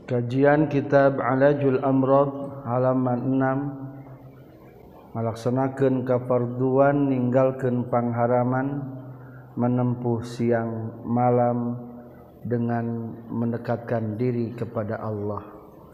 Kajian Kitab Alajul Amrad halaman 6 melaksanakan kafarduan ninggalkeun pangharaman menempuh siang malam dengan mendekatkan diri kepada Allah.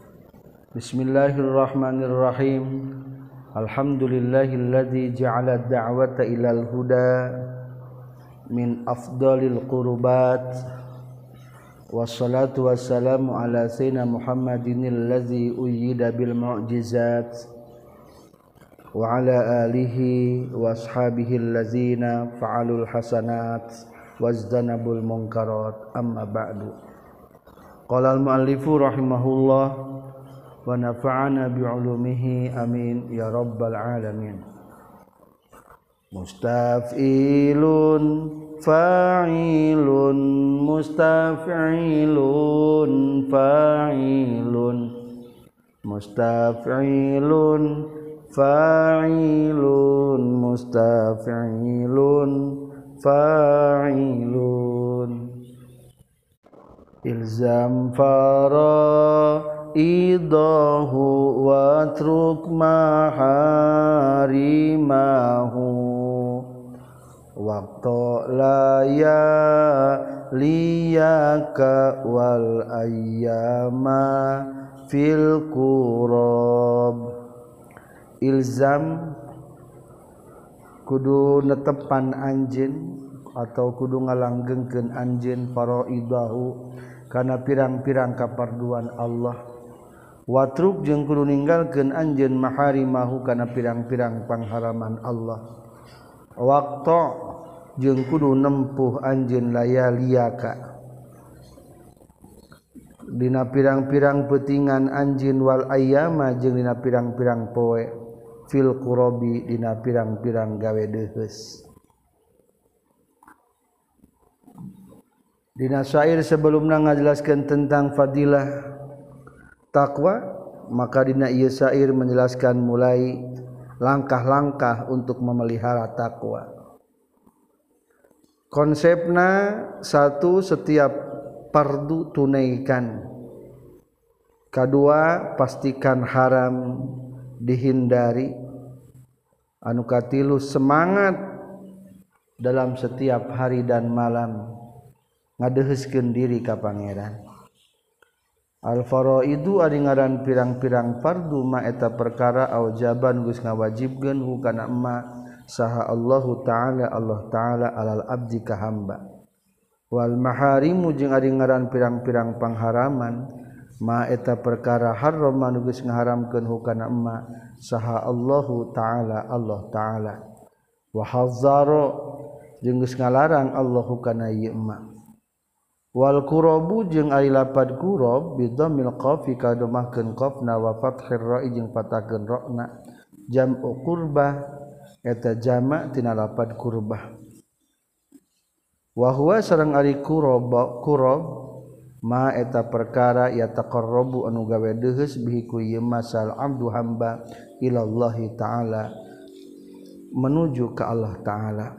Bismillahirrahmanirrahim. Alhamdulillahilladzi ja'ala ad-da'wata ilal huda min afdalil qurbat. Wassalatu wassalamu ala sayyidina Muhammadin allazi uyyida bil mu'jizat wa ala alihi wa ashabihi allazina fa'alul hasanat wazdanabul munkarat amma ba'du. Qala al muallifu rahimahullah wa nafa'ana bi'ulumihi amin ya rabbal alamin. Mustaf'ilun fa'ilun mustaf'ilun fa'ilun mustaf'ilun fa'ilun mustaf'ilun fa'ilun ilzam faraidahu watruk maharimahu waqtu laya liyaka wal ayyama fil qurab. Ilzam kudu netepan anjeun atau kudu ngalanggengkeun anjeun faraidahu kana pirang-pirang kaparduan Allah. Watruk jeung kudu ninggalkeun anjeun maharimahu kana pirang-pirang pangharaman Allah. Waktu jeung kudu nempuh anjeun layaliaka dina pirang-pirang peutingan anjeun wal ayyama jeung dina pirang-pirang poe fil qurabi dina pirang-pirang gawe deuheus. Dina syair sebelumna ngajelaskeun tentang fadilah takwa, maka dina ieu syair menjelaskan mulai langkah-langkah untuk memelihara takwa. Konsepna satu, setiap fardu tunaikan. Kedua, pastikan haram dihindari. Anu katilu, semangat dalam setiap hari dan malam ngadeuheuskeun diri ka Pangeran. Al-faraidu ari ngaran pirang-pirang fardu ma eta perkara aujaban geus ngawajibkeun hukana ma saha Allahu taala Allah taala alal abdi ka hamba. Wal maharimu jeung ari ngaran pirang-pirang pangharaman ma eta perkara haram anu geus ngaharamkeun hukana ma saha Allahu taala Allah taala. Wa hazzara jeung geus ngalarang Allah hukana ieu ma. Wal qurabu jeung ari lapad qurab bidammil qafi kadomahkeun qafna wa fathir ra'i jeung patahkeun ra'na jam'u qurbah eta jama' tina lapad qurbah. Wa huwa sareng ari qurab ma eta perkara ya taqarrabu anu gawe deuheus bihi ku ieu masal abdu hamba ilallahi taala menuju ka Allah taala.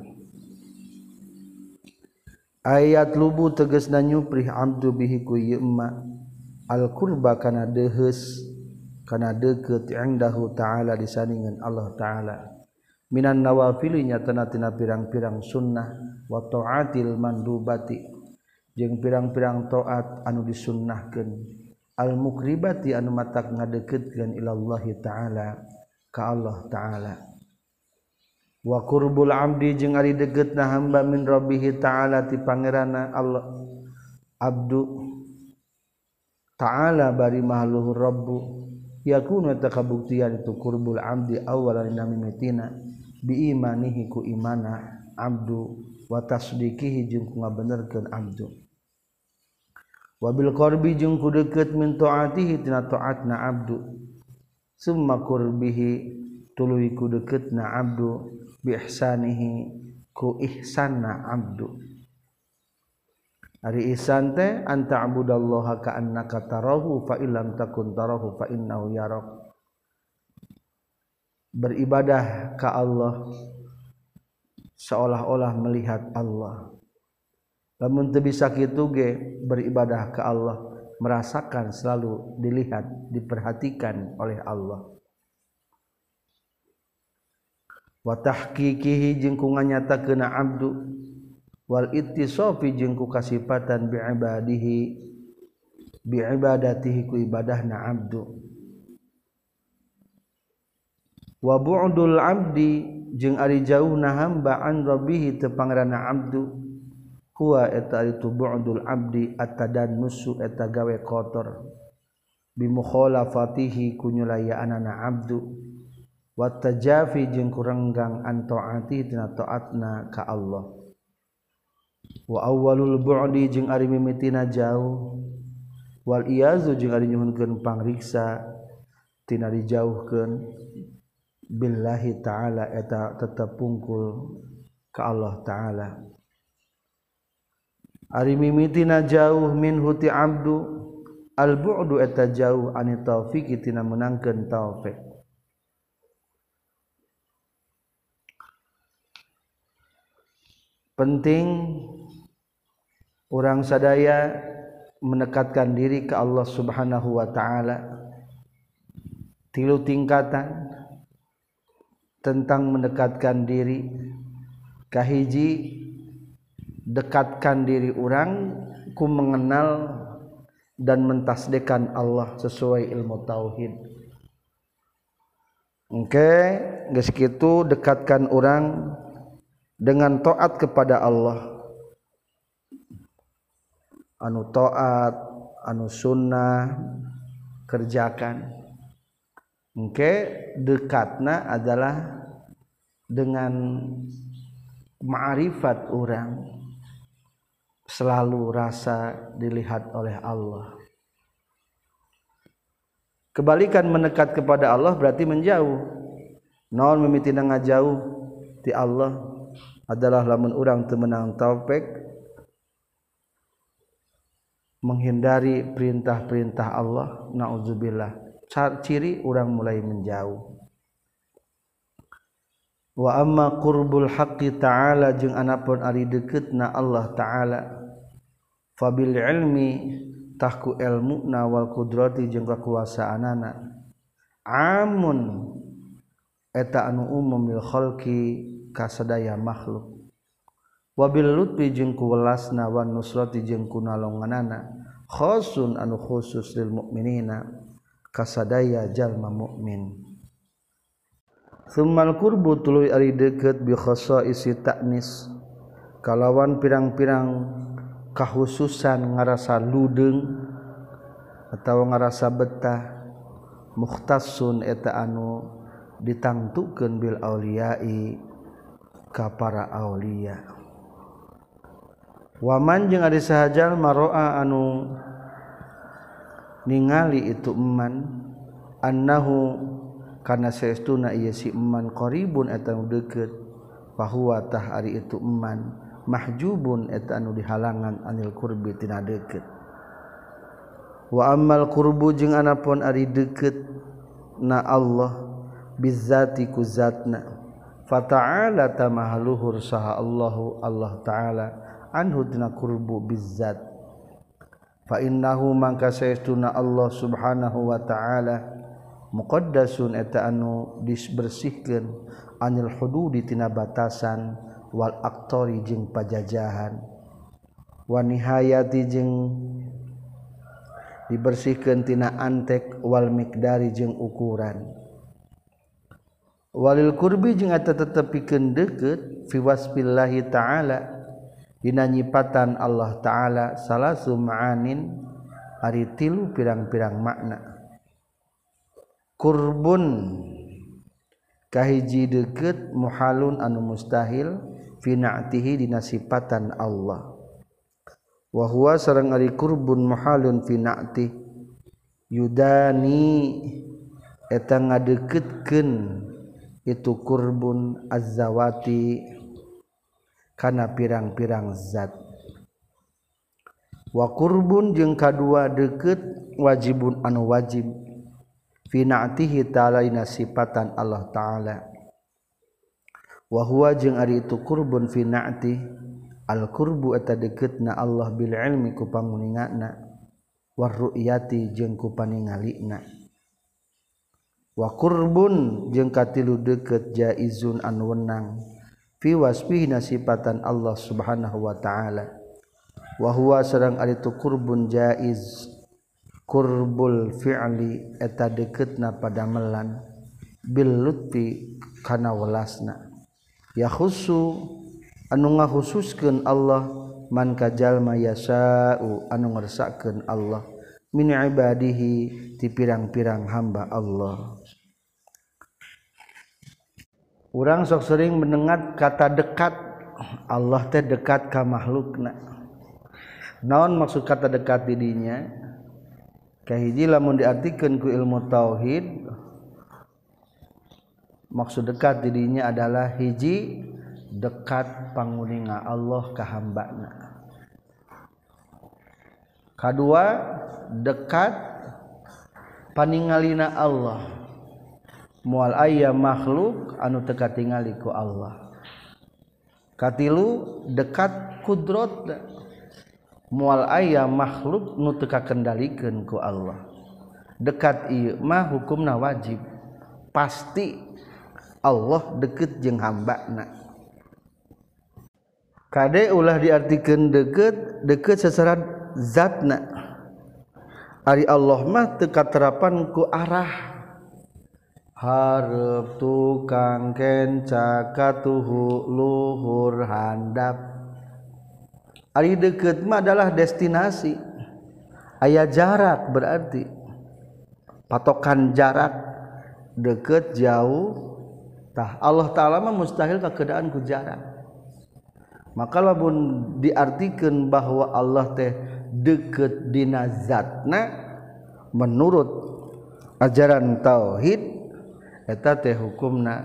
Ayat lubu tegasna nyuprih abdu bihi ku ieu ma al qurba kana deuheus kana deukeut indahu taala disandingan Allah taala minan nawafil nyatana tina pirang-pirang sunnah wa taatil mandubati jeung pirang-pirang taat anu disunnahkeun al mukribati anu matak ngadeukeutkeun ilallahi taala ka Allah taala. Wa qurbul abdi jeung ari degetna hamba min rabbih ta'ala ti pangeranna Allah abdu ta'ala bari mahluhur rabbu yakunu takabuktian itu qurbul abdi awalan mimitina bi imanihi ku imana abdu wa tasdiqihi jeung ku ngabenerkeun abdu wa bil qarbi jeung ku deukeut min taatihi tina taatna abdu summa qurbihi tuluy ku deukeutna abdu bi ihsanihi ku ihsanna abdu. Ari ihsan teh anta abudallaha ka annaka tarahu fa illam takun tarahu fa innahu yarak. Beribadah ka Allah seolah-olah melihat Allah. Lamun teu bisa kitu ge beribadah ka Allah merasakan, selalu dilihat, diperhatikan oleh Allah. Wa tahqiqihi jeung ku nganyatakeun abdu, wal ittisafi jeung ku kasifatan bi ibadatihi ku ibadahna abdu. Wa bu'dul abdi jeung ari jauhna hamba an rabbih teu pangeranna abdu, huwa eta itu bu'dul abdi at-tadannusu eta gawe kotor bi mukhalafatihi ku nyulayaanana abdu, wa tajafi jeung kuranggang an taati tina taatna ka Allah. Wa awwalul bu'di jeung ari mimitina jauh, wal iyazu jeung ari nyuhunkeun pangriksa tina dijauhkeun billahi ta'ala eta tetep pungkul ka Allah ta'ala. Ari mimitina jauh min huti abdu, al bu'du eta jauh ani taufiq tina menangkeun taufik. Penting orang sadaya mendekatkan diri ke Allah Subhanahu wa ta'ala. Tilu tingkatan tentang mendekatkan diri. Kahiji, dekatkan diri orang ku mengenal dan mentasdiqkan Allah sesuai ilmu tauhid. Geus kitu dekatkan orang dengan taat kepada Allah, anu taat, anu sunnah kerjakan. Dekatna adalah dengan ma'rifat orang, selalu rasa dilihat oleh Allah. Kebalikan mendekat kepada Allah berarti menjauh. Naon mimitina ngajauh ti Allah adalah lamun urang teu meunang taufik menghindari perintah-perintah Allah, naudzubillah. Ciri urang mulai menjauh. Wa amma qurbul haqqi ta'ala jeung anapun ari dekeutna Allah ta'ala, fabil ilmi tahku ilmuna wal qudrati jeung kakuasaanana, amun eta anu umum bil khalqi ka sadaya makhluk, wabil lutfi jeung ku welasna wan nusrati jeung ku nalonganana, khasun anu khusus lil mukminina ka sadaya jalma mukmin. Tsummal qurbu tuluy ari deukeut bi khasaisi ta'nis kalawan pirang-pirang kahususan ngarasa ludeung atawa ngarasa betah, mukhtassun eta anu ditangtukeun bil auliyai ka para aulia. Waman jeung ari sahajal maroa anu ningali itu eman annahu kana saestuna ieu si eman qaribun eta anu deukeut, fahuwa tah ari itu eman mahjubun eta anu dihalangan anil qurbi tina deukeut. Wa ammal qurbu jeung anapun ari deukeut na Allah bizzati ku zatna, fa ta'ala tamahaluhur saha Allahu Allah ta'ala anhu tina qurbu bizzat. Fa innahu mangka saestuna Allah subhanahu wa ta'ala muqaddasun eta anu dibersihkeun anil hududi tina batasan wal aqtari jeung pajajahan, wa nihayati jeung dibersihkeun tina antek wal miqdari jeung ukuran. Walil qurbi jeung eta tetepikeun deukeut fi wasfillahi ta'ala dina nyipatan Allah ta'ala salasu ma'anin ari tilu pirang-pirang makna. Qurbun kahiji deukeut muhalun anu mustahil fi na'tihi dina sifatan Allah, wa huwa sareng ari qurbun muhalun fi na'ti yudani eta ngadeukeutkeun itu qurbun az-zawati kana pirang-pirang zat. Wa qurbun jeung kadua deukeut wajibun anu wajib fi na'tihi ta'ala ina sifatan Allah ta'ala, wa huwa jeung ari itu qurbun fi na'ti al qurbu eta deukeutna Allah bil ilmi ku panguningana, warru'yati jeung ku paningalina wa qurbun jeung katilu deukeut jaizun anu wenang fi wasfihi sifatan Allah subhanahu wa ta'ala wa huwa sareng ari tu qurbun jaiz qurbul fi'li eta deuketna padamelan bil lutfi kana welasna ya khusu anu ngakhususkeun Allah man kajalma yasa'u anu ngersakkeun Allah min ibadihi ti pirang-pirang hamba Allah. Urang sok sering mendengar kata dekat. Allah teh dekat ka makhlukna. Naon maksud kata dekat di dinya? Kahiji lamun diartikeun ku ilmu tauhid, maksud dekat di dinya adalah hiji dekat panguninga Allah ka hambana. Kadua dekat paningalina Allah moal aya makhluk anu teu katingali ku Allah. Katilu dekat kudrat moal aya makhluk nu teu kakendalikeun ku Allah. Dekat ieu mah hukumna wajib pasti Allah deket jeung hambana. Kade ulah diartikeun deket secara zatna. Ari Allah mah teu katerapan ku arah. Hareup tukang kenca katuhu luhur handap. Ari deket mah adalah destinasi. Aya jarak berarti patokan jarak deket jauh. Tah Allah Ta'ala mah mustahil kakeadaan ku jarak. Maka lamun diartikeun bahwa Allah teh deket dina zatna menurut ajaran tauhid eta teh hukumna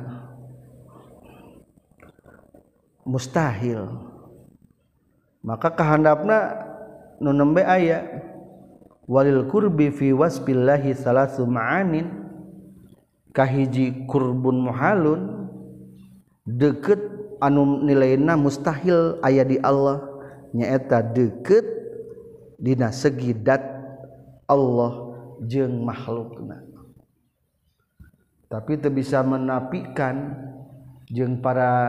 mustahil. Maka kahandapna nu nembe aya walil qurbi fi wasbillahi salasu ma'anin kahiji qurbun muhalun deket anu nilaina mustahil aya di Allah nyaeta deket dina segi dat Allah jeung makhlukna. Tapi teu bisa menapikan jeung para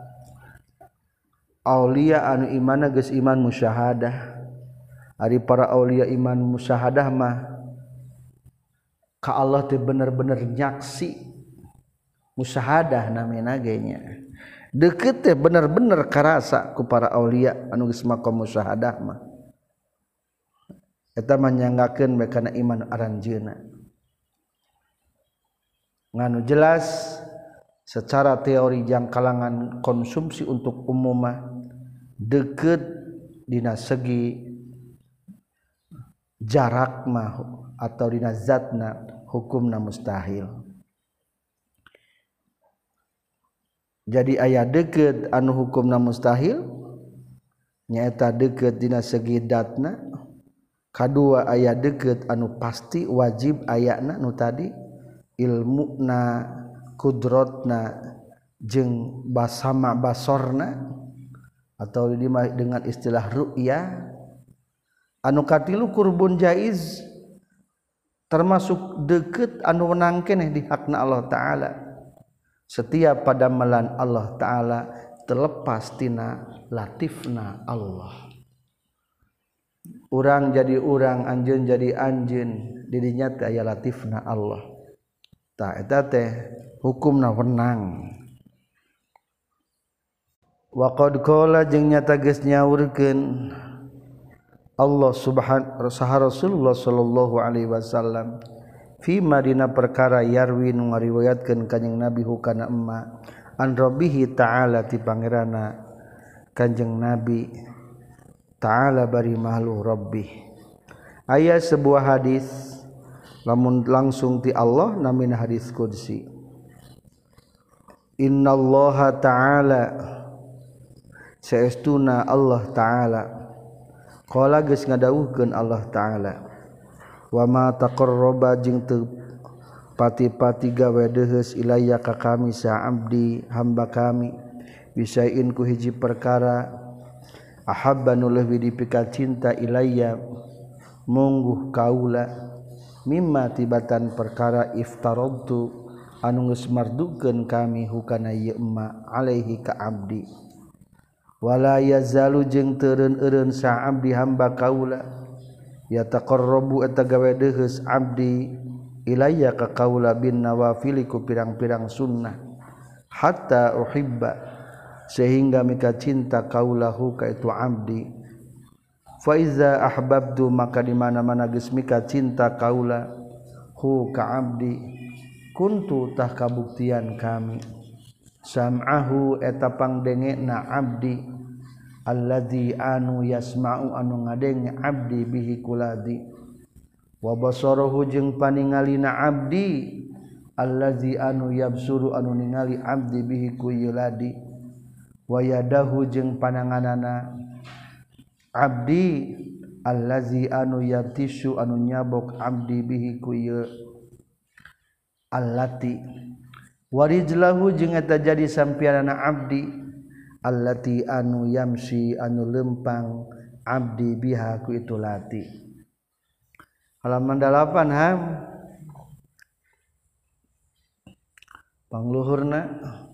aulia anu imanna geus iman musyahadah. Ari para aulia iman musyahadah mah ka Allah teh bener-bener nyaksi musyahadah namina ge nya. Deket teh bener-bener karasa ku para aulia anu geus maqam musyahadah mah. Eta mah nyanggakeun bae kana iman aranjeunna. Nganu jelas secara teori jang kalangan konsumsi untuk umum mah deket dina segi jarak mah atau dina zatna hukumna mustahil. Jadi aya deket anu hukumna mustahil nyaeta deket dina segi datna. Kadua aya deket anu pasti wajib ayana nu tadi ilmuna kudratna jeung basama basorna atau dengan istilah ru'ya. Anu katilu qurbun jaiz termasuk deket anu wenang keneh di hakna Allah Ta'ala. Setiap padamelan Allah Ta'ala terlepas tina latifna Allah. Urang jadi urang, anjeun jadi anjeun, di dinya teh aya latifna Allah. Tah eta teh hukumna wenang. Wa qad qala jeung nyata geus nyaurkeun Allah subhanahu saha Rasulullah sallallahu alaihi wasallam fi madina perkara yarwi nu ngariwayatkeun kanjing Nabi hukana emma an rabbihi ta'ala ti pangerana kanjing Nabi ta'ala bari mahlu rabbih. Aya sebuah hadis lamun langsung ti Allah namina hadis qudsi. Innallaha ta'ala saestuna Allah Ta'ala qala geus ngadawuhkeun Allah Ta'ala wa ma taqarraba jeung teu pati-pati gawe deus ilayya ka kami sa abdi hamba kami bisain ku hiji perkara ahabba nu leuwih dipika cinta ilayya mungguh kaula mimma tibatan perkara iftaradtu anu geus mardukeun kami hukana ieu emma alaihi ka abdi wala yazalu jeung teureun-eureun sa abdi hamba kaula yataqarrabu eta gawe deuheus abdi ilayya ka kaula bin nawafil ku pirang-pirang sunnah hatta uhibba sehingga mika cinta kaulahu ka itu abdi fa iza ahbabtu maka di mana-mana geus mika cinta kaula hu ka abdi kuntu tah kabuktian kami sam'ahu eta pangdengena abdi alladzi anu yasma'u anu ngadenge abdi bihi kuladi wa basarahu jeung paningalina abdi allazi anu yabsuru anu ningali abdi bihi ku yuladi wa yadahu jeung pananganana abdi allazi anu yabtishu anu nyabok abdi bihi ku allati warijlahu jeung eta jadi sampianana abdi allati anu yamsi anu lempang abdi biha ku itu lati. Halaman 8 ham pangluhurna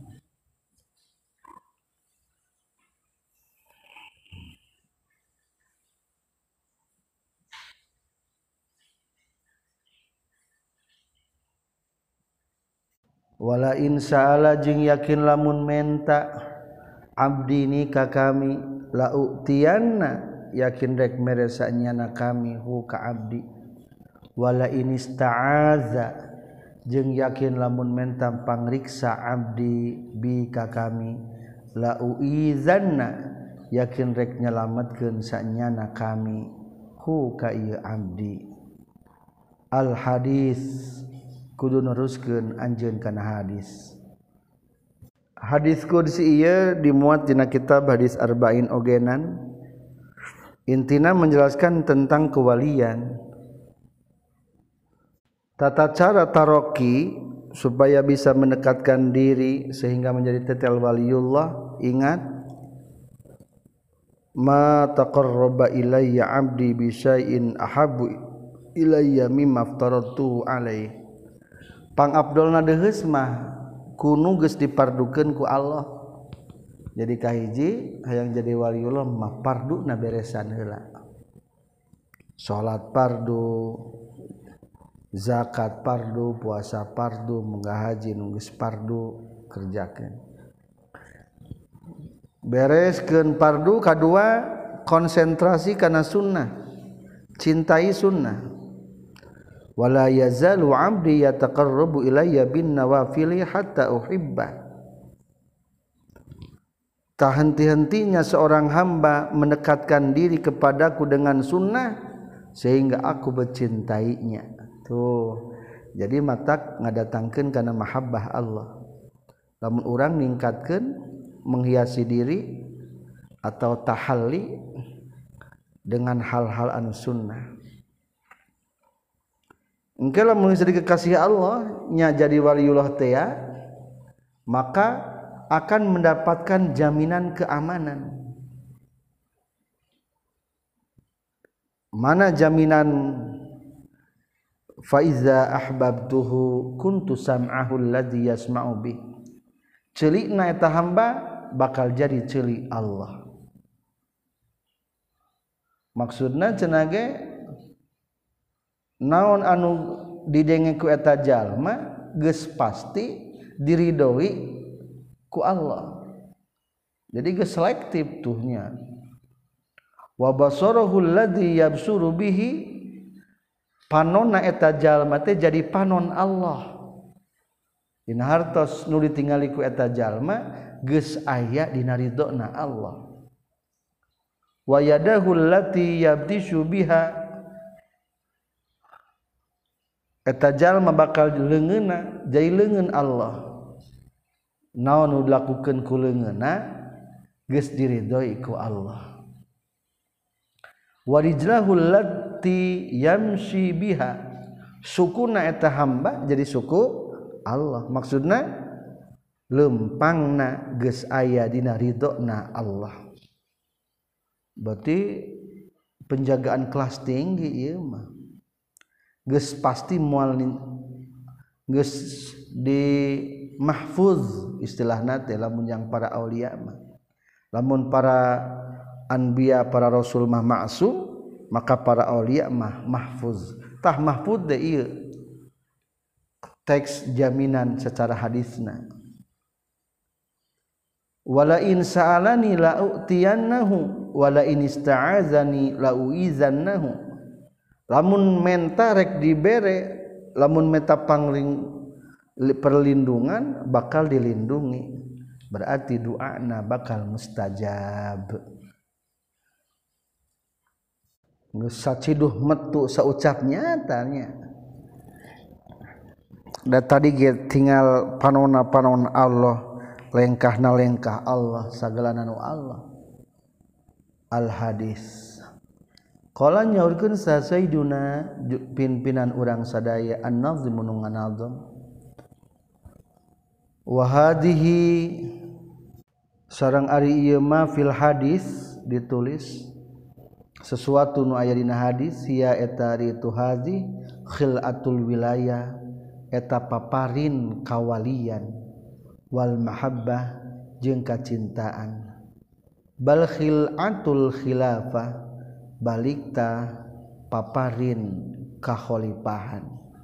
wala in sa'ala jeung yakin lamun menta abdi ni ka kami la utiyanna yakin rek mere sanyana kami hu ka abdi wala in ista'aza jeung yakin lamun menta pangriksa abdi bi ka kami la uizanna yakin rek nyelametkeun sanyana kami hu ka ieu abdi al hadis kudu neruskeun anjeun kana hadis. Hadis qudsi ieu dimuat dina kitab hadis arba'in ogenan. Intina menjelaskan tentang kewalian. Tata cara taroki supaya bisa mendekatkan diri sehingga menjadi tetel waliullah. Ingat, ma taqarraba ilayya 'abdi bi syai'in ahabbu ilayya mimma aftaratuhu alaihi. Pangabdolna deuheus mah kunu geus dipardukeun ku Allah. Jadi kahiji hayang jadi waliullah mah parduna beresan heula. Salat fardu, zakat fardu, puasa fardu, munggah haji nu geus fardu kerjakeun. Bereskeun fardu kadua konsentrasi kana sunnah. Cintai sunnah. Wala yazalu 'abdi yataqarrabu ilayya bin nawafili hatta uhibba. Tak henti-hentinya seorang hamba mendekatkan diri kepadaku dengan sunnah sehingga aku mencintainya. Tuh. Jadi matak ngadatangkeun kana mahabbah Allah. Lamun urang ningkatkeun menghiasi diri atau tahalli dengan hal-hal anu sunnah. Engke lamun jadi kekasih Allah nya jadi waliullah teh maka akan mendapatkan jaminan keamanan. Mana jaminan fa iza ahbabtuhu kuntu sam'ahu alladzi yasma'u bi. Ceulikna eta hamba bakal jadi ceulik Allah. Maksudna cenah ge naon anu didenge ku eta jalma geus pasti diridoi ku Allah. Jadi geus selektif tuhnya. Wa basarahu alladzi yabsuru bihi panonna eta jalma teh jadi panon Allah. Dina hartos nu ditingali ku eta jalma geus aya dina ridona Allah. Wa yadahu allati yabtishu biha eta jalma bakal leungeunna jadi leungeun Allah. Naon nu dilakukeun ku leungeunna geus diridoi ku Allah. Wa rijlahu allati yamshi biha sukuna eta hamba jadi suku Allah. Maksudna lempangna geus aya dina ridona Allah. Berarti penjagaan kelas tinggi ieu mah geus pasti moal geus di mahfuz istilahna teh lamun yang para aulia mah lamun para anbiya para rasul mah ma'sum maka para aulia mah mahfuz tah mahfuz teh ieu teks jaminan secara hadisna wala in sa'alani la u'tiyannahu wala in ista'azani la uizannahu lamun menta rek dibere lamun meta perlindungan bakal dilindungi berarti doana bakal mustajab geus saciduh metu saucap nyatanya da tadi ge tinggal panonna Allah lengkahna lengkah Allah sagalana nu Allah al hadis qala nyaurkeun sa sayyiduna pimpinan urang sadaya an-nazim nu nganazam wa hadhihi sareng ari ieu mah fil hadis ditulis sesuatu nu aya dina hadis sia eta ritu hadhi khilatul wilayah eta paparin kawalian wal mahabbah jeung kacintaan bal khilatul khilafah balikta paparin kakhalifahan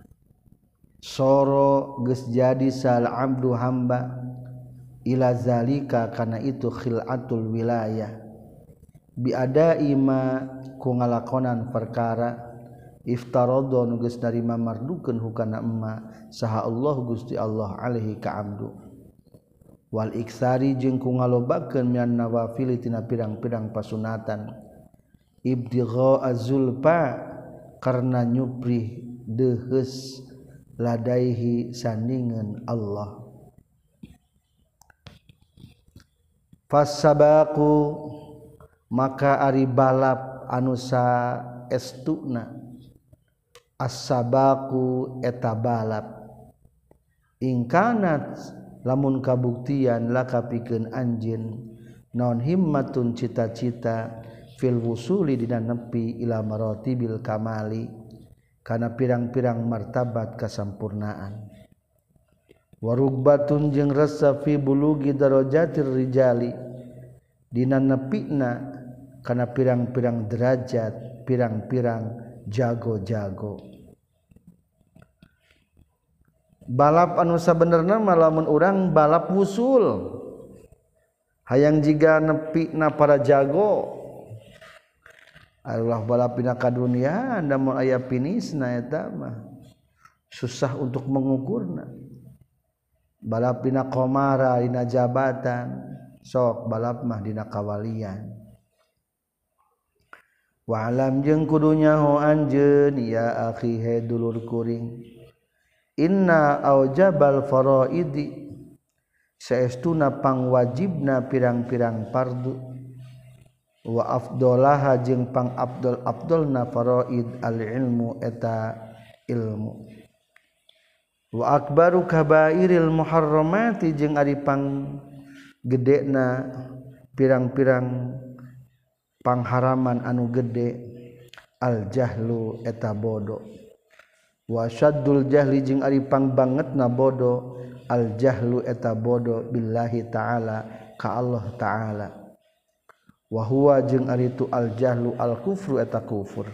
soro geus jadi sal abdu hamba ila zalika kana itu khilatul wilayah biada ima ku ngalakonan perkara iftaradha nu geus narima mardukeun hukana emma saha Allah Gusti Allah alaihi ka abdu wal iksari jeung ku ngalobakeun mian nawafil tina pirang-pirang pasunatan ibtigha azulfa karna nyuprih deheus ladaihi sandingan Allah fasabaqu maka ari balap anu saestuna as-sabaqu eta balap ingkanat lamun kabuktian laka pikeun anjeun naon himmatun cita-cita fil wusuli dina nepi ila maratibil kamali kana pirang-pirang martabat kasampurnaan warugbatun jeung rasa fi bulugi darajatir rijali dina nepina kana pirang-pirang derajat pirang-pirang jago-jago balap anu sabenerna mah lamun urang balap wusul hayang jiga nepina para jago Allah balap dina kadunya anda mau aya finisna eta mah susah untuk mengukurna balap dina qomara dina jabatan sok balap mah dina kawalian wa alam jeung kudu nyaho anjeun ya akhi he dulur kuring inna aujabal faraidi saestuna pangwajibna pirang-pirang fardu wa afdolaha jeung pang afdolna faraid al ilmu eta ilmu wa akbaru kabairil muharramati jeung ari pang gedena pirang-pirang pangharaman anu gede al jahlu eta bodoh wa syaddul jahli jeung ari pang bangetna bodoh al jahlu eta bodoh billahi taala ka Allah taala wa huwa jeung ari tu al jahlu al kufru eta kufur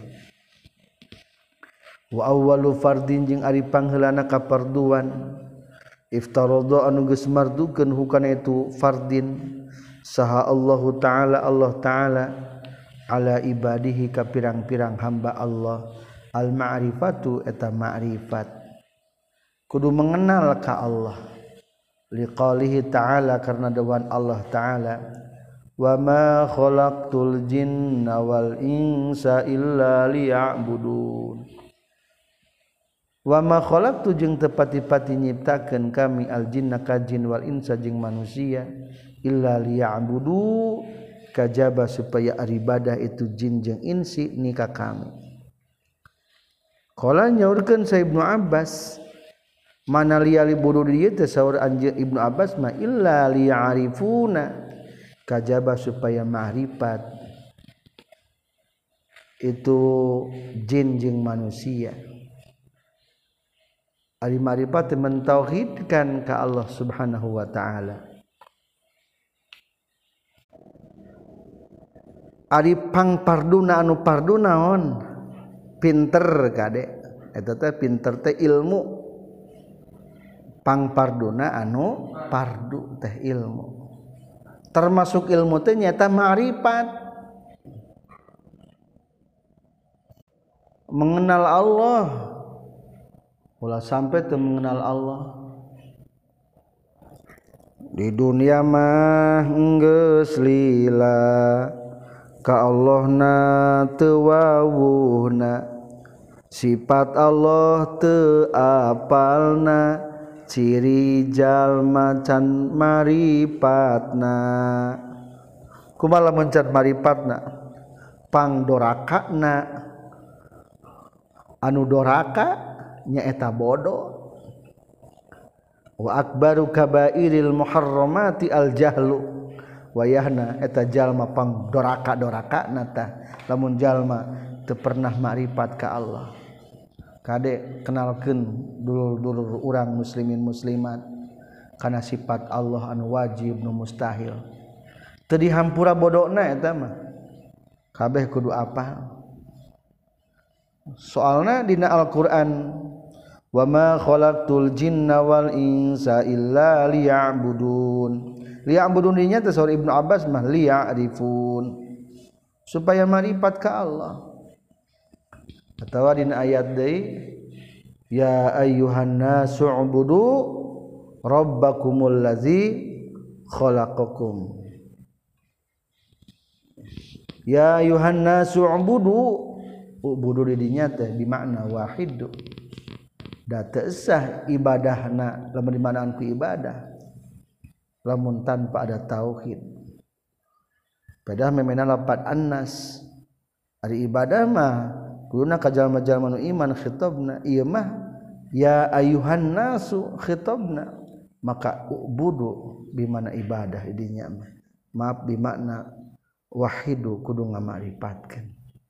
wa awwalu fardin jeung ari pangheulana kaparduan iftaradha anu geus mardukeun hukana itu fardin saha Allah taala ala ibadihi ka pirang-pirang hamba Allah al ma'rifatu eta ma'rifat kudu mengenal ka Allah liqalihi ta'ala karena dawan Allah taala wa ma khalaqtul jinna wal insa illa liya'budun wa ma khalaqtu jeung teu pati-pati nyiptakeun kami al jinna ka jin wal insa jeung manusia illa liya'budu kajaba supaya ibadah itu jin jeung insi ni ka kami qala nyaurkeun sa Ibnu Abbas mana liyali budu dieu teh saur anjeun Ibnu Abbas mah illa liya'rifuna kajaba supaya ma'rifat itu jin jeung manusia. Ari marifat mentauhidkan ka Allah Subhanahu wa taala. Ari pangparduna anu pardu naon? Pinter kade. Eta teh pinter teh ilmu. Pangparduna anu pardu teh ilmu. Termasuk ilmu teh nyata ma'rifat. Mengenal Allah. Ulah sampai teu mengenal Allah. Di dunia mah geus lila ka Allahna teu wawuhna, sifat Allah teu apalna, ciri jalma can maripatna. Kumaha lamun can maripatna? Pangdorakana anu doraka nyaeta bodoh. Wa akbaru kabairil muharramati al jahlu, wayahna eta jalma pangdoraka-dorakana tah lamun jalma teu pernah makrifat ka Allah. Kade kenalkeun dulur-dulur urang muslimin muslimat kana sifat Allah anu wajib nu mustahil. Teu dihampura bodohna eta mah. Kabeh kudu apal. Soalna dina Al-Qur'an wa ma khalaqtul jinna wal insa illa liya'budun. Liya'budun nya teh saur Ibnu Abbas mah liya'rifun, supaya marifat ka Allah. Atawa dina ayat deui ya ayyuhan nasu ubudu rabbakumul ladzi khalaqakum. Ya ayyuhan nasu ubudu di dinya teh bimakna wahid. Da teu sah ibadahna lamun dimanaan ku ibadah lamun tanpa ada tauhid. Padahal memena lapat annas ari ibadah mah kuduna ka jalma-jalma nu iman khitabna ieu mah ya ayuhan nasu khitabna, maka ubudu bimana ibadah dinya mah maaf bimakna wahidu kudu ngamarifatkeun.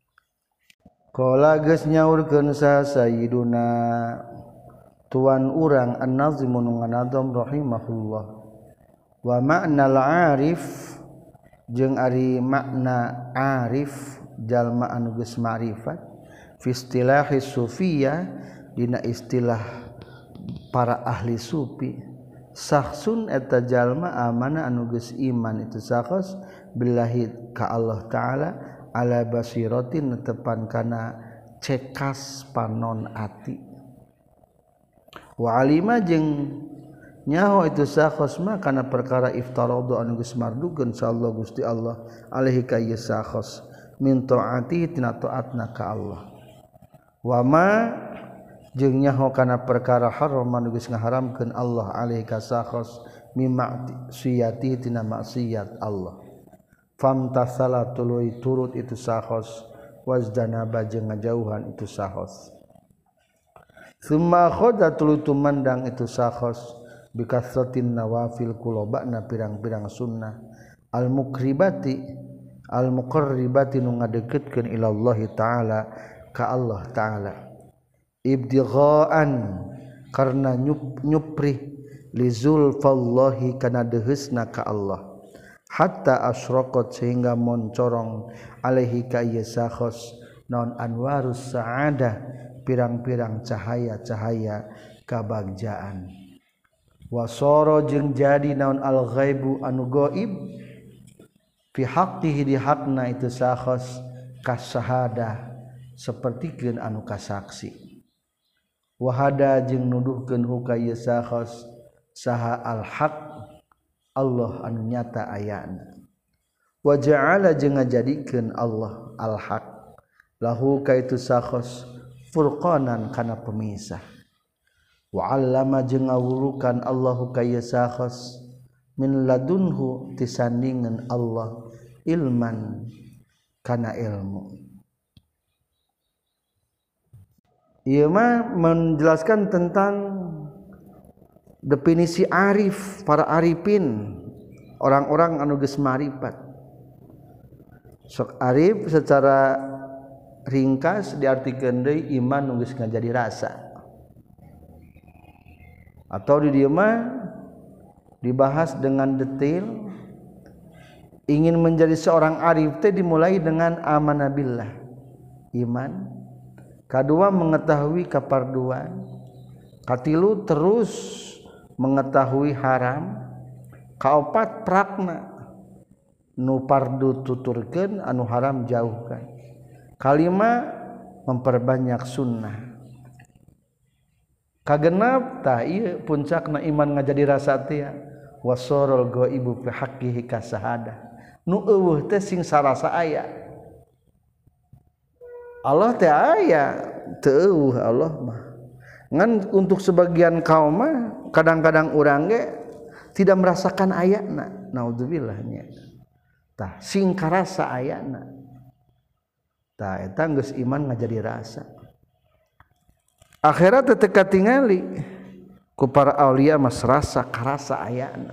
Qala geus nyaurkeun sa sayyiduna tuan urang An-Nazim nu nganadom rahimahullah, wa ma'nal arif jeung ari makna arif jalma anu geus ma'rifat fi istilahi sufiyah dina istilah para ahli sufi, sakhsun eta jalma amana anu geus iman itu sakhs billahi ka Allah taala ala basiratin netepan kana cekas panon ati. Wa alima jeung nyaho itu sakhos mah kana perkara iftaradu anu geus mardukeun sallallahu Gusti Allah alaihi ka ieu sakhos min taati tina taatna ka Allah. Wa ma jeung nyaho kana perkara haram anu geus ngaharamkeun Allah alaihi ka sakhos mimma siyati tina maksiat Allah. Famtasala tuluy turut itu sakhos wazdanaba jeung ngajauhan itu sakhos. Summa khoda tuluy tumandang itu sakhos bikasratin nawafil kulobana pirang-pirang sunnah al muqribati nu ngadeukeutkeun ila Allah taala ka Allah taala ibtighaan karna nyupri li zulfallahi kana deheusna ka Allah hatta asyraqat sehingga moncorong alaihi ka ieu sakhos naon anwarus saadah pirang-pirang cahaya-cahaya kabagjaan. Wasara jeung jadi naon al-ghaibu anu gaib fi haqqihi di hakna itu sakhos kasahadah sapertikeun anu kasaksi. Wahada jeung nuduhkeun hukaya sakhos saha al-haq Allah anu nyata ayana. Wa ja'ala jeung ngajadikeun Allah al-haq lahu kaitu sakhos furqanan kana pemisah. Wa 'allama jeung ngawulukan Allahu ka ieu sakhos min ladunhu tisandingan Allah ilman kana ilmu. Ieu mah menjelaskan tentang definisi arif, para arifin, orang-orang anu geus marifat. Sok arif secara ringkas diartikeun deui iman nu geus ngajadi rasa. Atau di dieu mah dibahas dengan detail. Ingin menjadi seorang arif teh dimulai dengan amanah billah, iman. Kedua mengetahui kaparduan. Katilu terus mengetahui haram. Kaopat prakna nu pardu tuturkeun anu haram jauhkan. Kalima memperbanyak sunnah. Kagenap tah ieu puncakna iman ngajadi rasa teh wasorol ghaibu fi haqqihi kasahadah. Nu eueuh teh sing sarasa aya. Allah teh aya teu eueuh Allah mah. Ngan untuk sebagian kaum mah kadang-kadang urang ge tidak merasakan ayatna. Naudzubillah nya. Tah sing karasa ayatna. Tah eta geus iman ngajadi rasa. Akhirat teu katingali ku para aulia mas rasa karasa ayatna.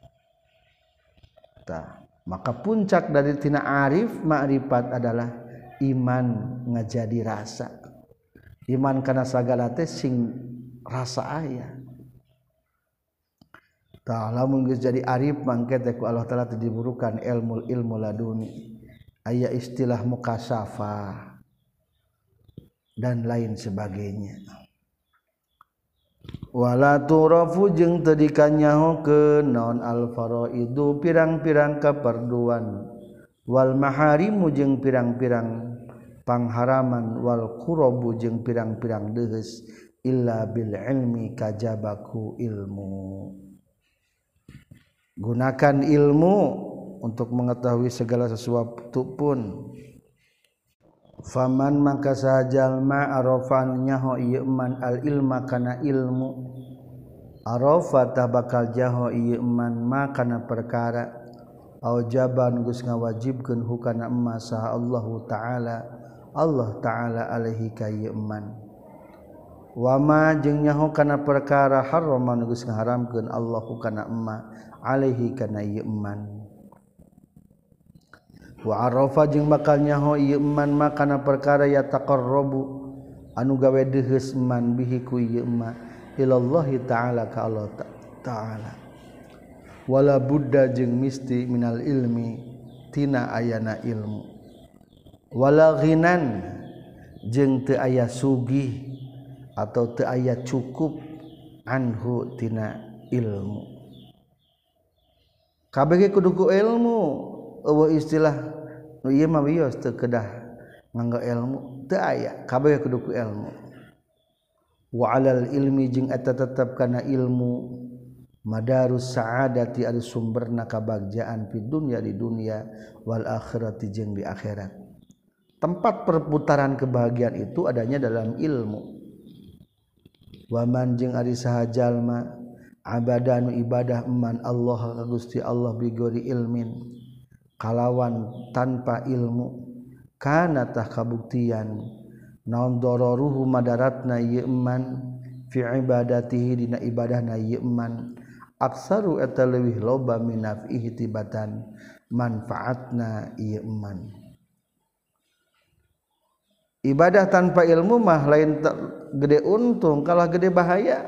Tah, maka puncak dari tina arif ma'rifat adalah iman ngajadi rasa. Iman kana sagala teh sing rasa aya. Tah lamun geus jadi arif mangke teh ku Allah taala teh diburukan ilmu laduni. Aya istilah mukasyafah dan lain sebagainya. Wala turafu jeung teu dikanyahokeun naon al faraidu pirang-pirang kaparduan wal maharimu jeung pirang-pirang pangharaman wal qurabu jeung pirang-pirang deus illa bil ilmi kajabaku ilmu. Gunakan ilmu untuk mengetahui segala sesuatu pun. Faman maka sajalma arafan nyaho ieu man al ilma kana ilmu arafa tabakal jaho ieu man ma kana perkara aujaban geus ngawajibkeun hukana emma saha Allah taala alaihi ka ieu man wa ma jeung nyaho kana perkara haraman geus ngaharamkeun Allah hukana emma alaihi kana ieu man wa arafa jeung bakal nyaho ieu man makana perkara ya taqarrabu anu gawe deus man bihi ku ieu ma ilallahi taala ka Allah taala wala budda jeung misti minal ilmi tina ayana ilmu wala ghinan jeung teu aya sugih atau teu aya cukup anhu tina ilmu kabeh kudu ku ilmu eueuh istilah nu ieu mah wios teu kedah nganggo ilmu teu aya kabeh kudu ku ilmu wa alal ilmi jeung eta tetep kana ilmu madarus saadati adu sumberna kabagjaan fi dunya di dunia wal akhirati jeung di akhirat tempat perputaran kebahagiaan itu adanya dalam ilmu wa man jeung ari saha jalma abadanu ibadah eman Allah ka Gusti Allah bi ghairi ilmin kalawan tanpa ilmu kana tah kabuktian naon dararuhu madaratna ieu man fi ibadatihi dina ibadahna ieu man aksaru eta leuwih loba min nafihi tibatan manfaatna ieu man ibadah tanpa ilmu mah lain gede untung kalah gede bahaya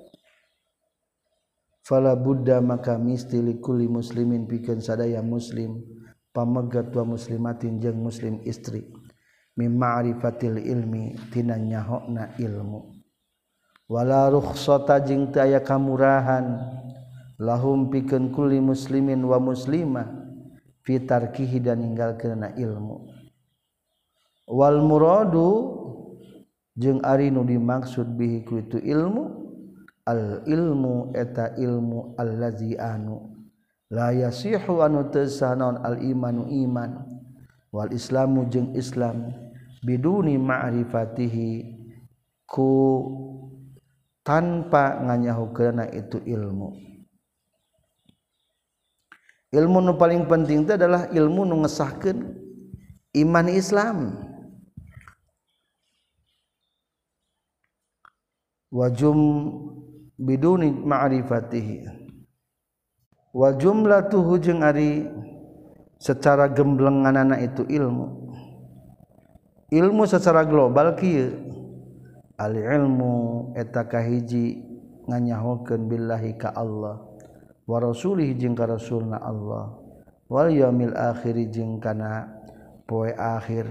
fala budda maka misti likulli muslimin pikeun sadaya muslim pamegat wa muslimatin jeung muslim istri mim ma'rifatil ilmi tina nyahona ilmu wala rukhsata jeung teu aya kamurahan lahum pikeun kulli muslimin wa muslimah fi tarkihi dan ninggalkeunna ilmu wal muradu jeung ari nu dimaksud bihi ku itu ilmu al ilmu eta ilmu allazi anu la yasihu anu teu sah naon al imanu iman wal islamu jeung islam biduni ma'rifatihi ku tanpa nganyahukeunna itu ilmu nu paling penting itu adalah ilmu nu ngesahkeun iman Islam wajum biduni ma'rifatihi wa jumlatuhu jeung ari secara gemblenganana itu ilmu ilmu secara global kieu al ilmu eta kahiji nganyahokeun billahi ka Allah wa rasulih jeung ka rasulna Allah wal yaumil akhir jeung kana poe akhir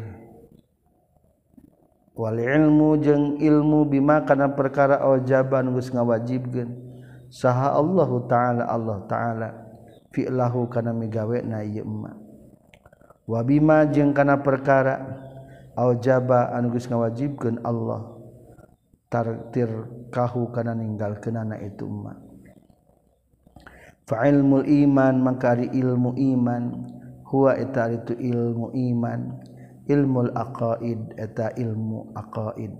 wal ilmu jeung ilmu bima kana perkara awajaban geus ngawajibkeun saha Allah taala fi'lahu kana migawena ieu emma wa bima jeung kana perkara aujaba anu geus ngawajibkeun Allah tartir kahu kana ninggalkeunana itu emma fa ilmul iman maka ari ilmu iman huwa eta itu ilmu iman ilmul aqaid eta ilmu aqaid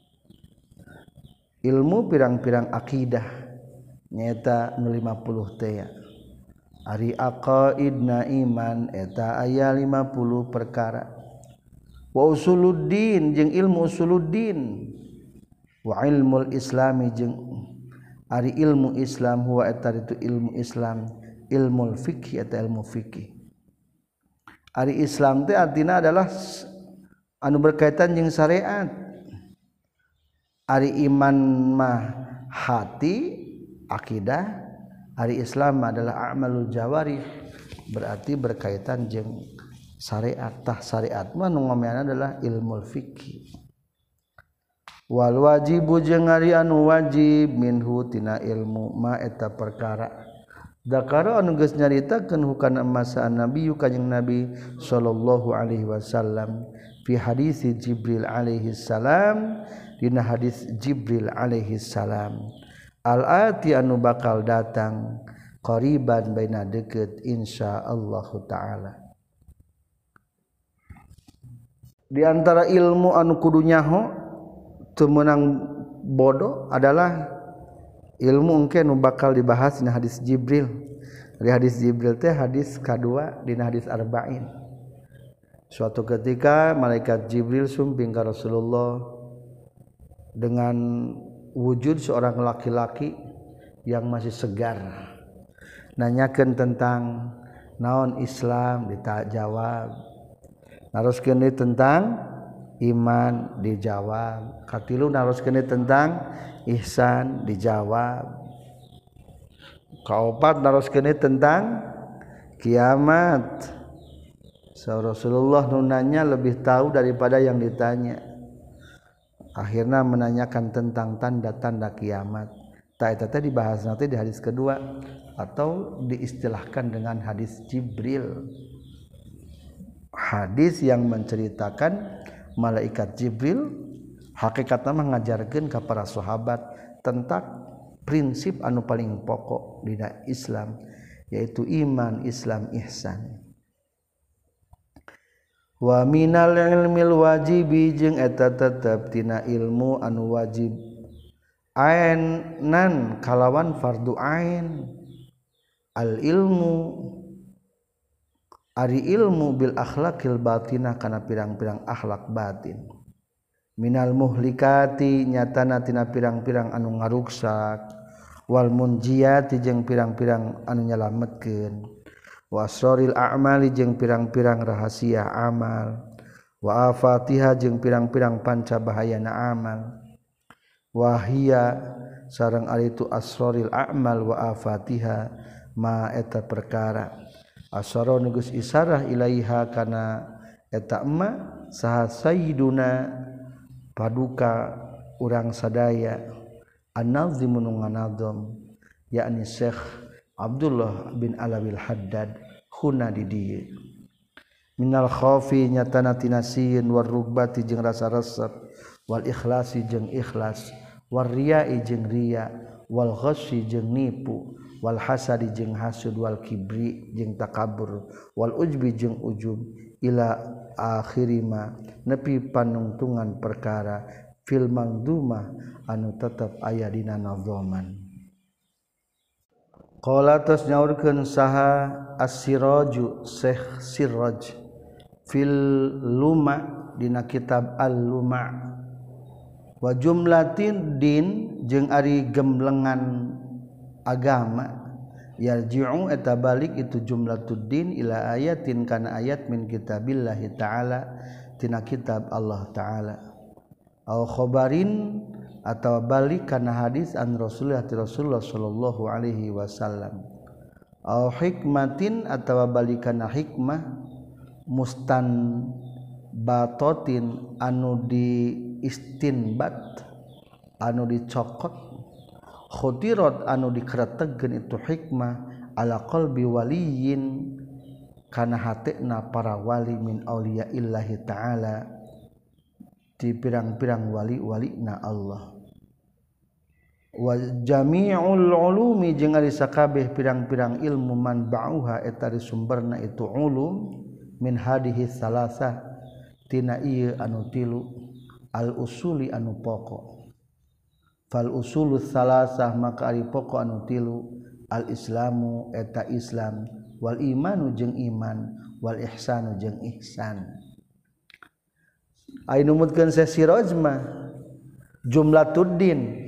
ilmu pirang-pirang akidah nyaeta nu 50 teh ari aqaidna iman eta aya 50 perkara wa usuluddin jeung ilmu usuluddin wa ilmul islami jeung ari ilmu Islam huwa eta itu ilmu Islam ilmul fikih eta ilmu fikih ari Islam teh artina adalah anu berkaitan jeung syariat ari iman mah hati akidah ari Islam adalah amalul jawarih berarti berkaitan jeung syariat tah syariat mah nu ngameana adalah ilmu fikih wal wajibu jeung ari anu wajib minhu tina ilmu ma eta perkara dakara anu geus nyaritakeun hukana masa nabi kanjing nabi sallallahu alaihi wasallam fi hadis Jibril alaihi salam dina hadis Jibril alaihi salam al ati anu bakal datang qariban baina deukeut insyaallah taala. Di antara ilmu anu kudu nyaho teu meunang bodoh adalah ilmu engke nu bakal dibahas dina hadis Jibril. Di hadis Jibril teh hadis kadua dina hadis arba'in. Suatu ketika malaikat Jibril sumping ka Rasulullah dengan wujud seorang laki-laki yang masih segar. Nanyakeun tentang naon Islam dijawab. Naroskeun deui tentang iman dijawab. Katilu naroskeun deui tentang ihsan dijawab. Kaopat naroskeun deui tentang kiamat. Rasulullah nu nanya lebih tahu daripada yang ditanya. Akhirnya menanyakan tentang tanda-tanda kiamat. Ta eta teh dibahas nanti di hadis kedua atau diistilahkan dengan hadis Jibril. Hadis yang menceritakan malaikat Jibril hakikatna mengajarkeun ka para sahabat tentang prinsip anu paling pokok dina Islam yaitu iman, Islam, ihsan. Wa minal ilmil wajibi jeung eta tetep tina ilmu anu wajib ainan kalawan fardu ain al ilmu ari ilmu bil akhlaqil batinah kana pirang-pirang akhlak batin minal muhlikati nyatana tina pirang-pirang anu ngaruksak wal munjiati jeung pirang-pirang anu nyalametkeun wa asraril a'mali jeung pirang-pirang rahasia amal wa afatiha jeung pirang-pirang panca bahayana amal wa hiya sareng ari itu asraril a'mal wa afatiha ma eta perkara asara nugus isarah ilaiha kana eta emma saha sayyiduna paduka urang sadaya an-nazim nu nganazam yakni Syekh Abdullah bin Alawil Haddad huna di dieu minal khaufi nyatana tina sieun war rugbati jeung rasa resep wal ikhlasi jeung ikhlas war riya'i jeung riya wal ghasyi jeung nipu wal hasadi jeung hasud wal kibri jeung takabur wal ujbi jeung ujub ila akhirima nepi panungtungan perkara fil mangdumah anu tetep aya dina nazaman. Qala tas nyaurkeun saha as-siraju Syekh Siraj fil luma dina kitab al-luma wa jumlatin din jeung ari gemblengan agama yarji'u eta balik itu jumlatuddin ila ayatin kana ayat min kitabillahi ta'ala tina kitab Allah Ta'ala au khobarin atau balik kana hadis an Rasulullah sallallahu alaihi wasallam au hikmatin atau balik kana hikmah mustan batotin anu di istinbat anu dicokot khutirat anu dikretegkeun itu hikmah ala qalbi waliyin kana hatina para wali min auliya illahi ta'ala di pirang-pirang wali-walina Allah wa jami'ul ulumi jeung ari sakabeh pirang-pirang ilmu man ba'uha eta sumberna itu ulum min hadihi salasah tina ieu anu tilu al usuli anu pokok fal usulus salasah maka ari pokok anu tilu al islamu eta islam wal imanu jeung iman wal ihsanu jeung ihsan ai numutkeun sesiroj mah jumlatuddin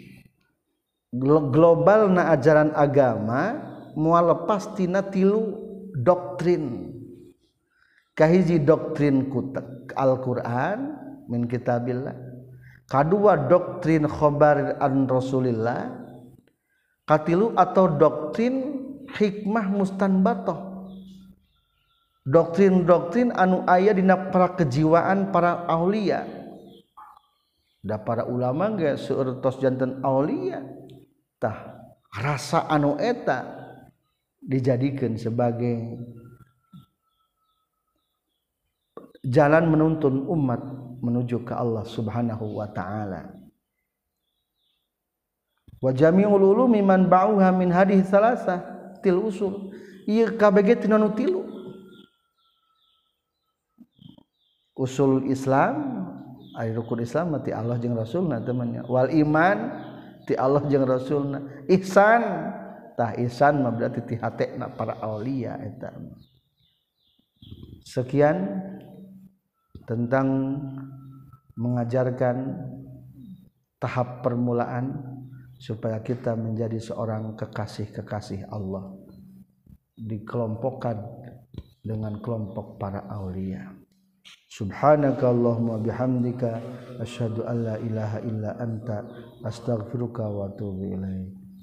globalna ajaran agama moal lepas tina tilu doktrin kahiji doktrin Al-Qur'an min kitabillah kadua doktrin khobar an Rasulillah katilu atau doktrin hikmah mustanbatoh doktrin-doktrin anu aya dina para kejiwaan para aulia da para ulama ge seueur tos janten aulia tah rasa anu eta dijadikeun sebagai jalan menuntun umat menuju ke Allah Subhanahu wa taala wa jami'ul ulumi man ba'uha min hadhihi salasah til usul ieu kabeh tina nu tilu usul Islam ari rukun Islam ti Allah jeung Rasulna temannya wal iman ti Allah jeung Rasulna ihsan tah ihsan mah berarti ti hatena para aulia eta sekian tentang mengajarkan tahap permulaan supaya kita menjadi seorang kekasih-kekasih Allah dikelompokkan dengan kelompok para aulia. Subhanakallahumma bihamdika asyhadu an la ilaha illa anta astaghfiruka wa atubu ilaik.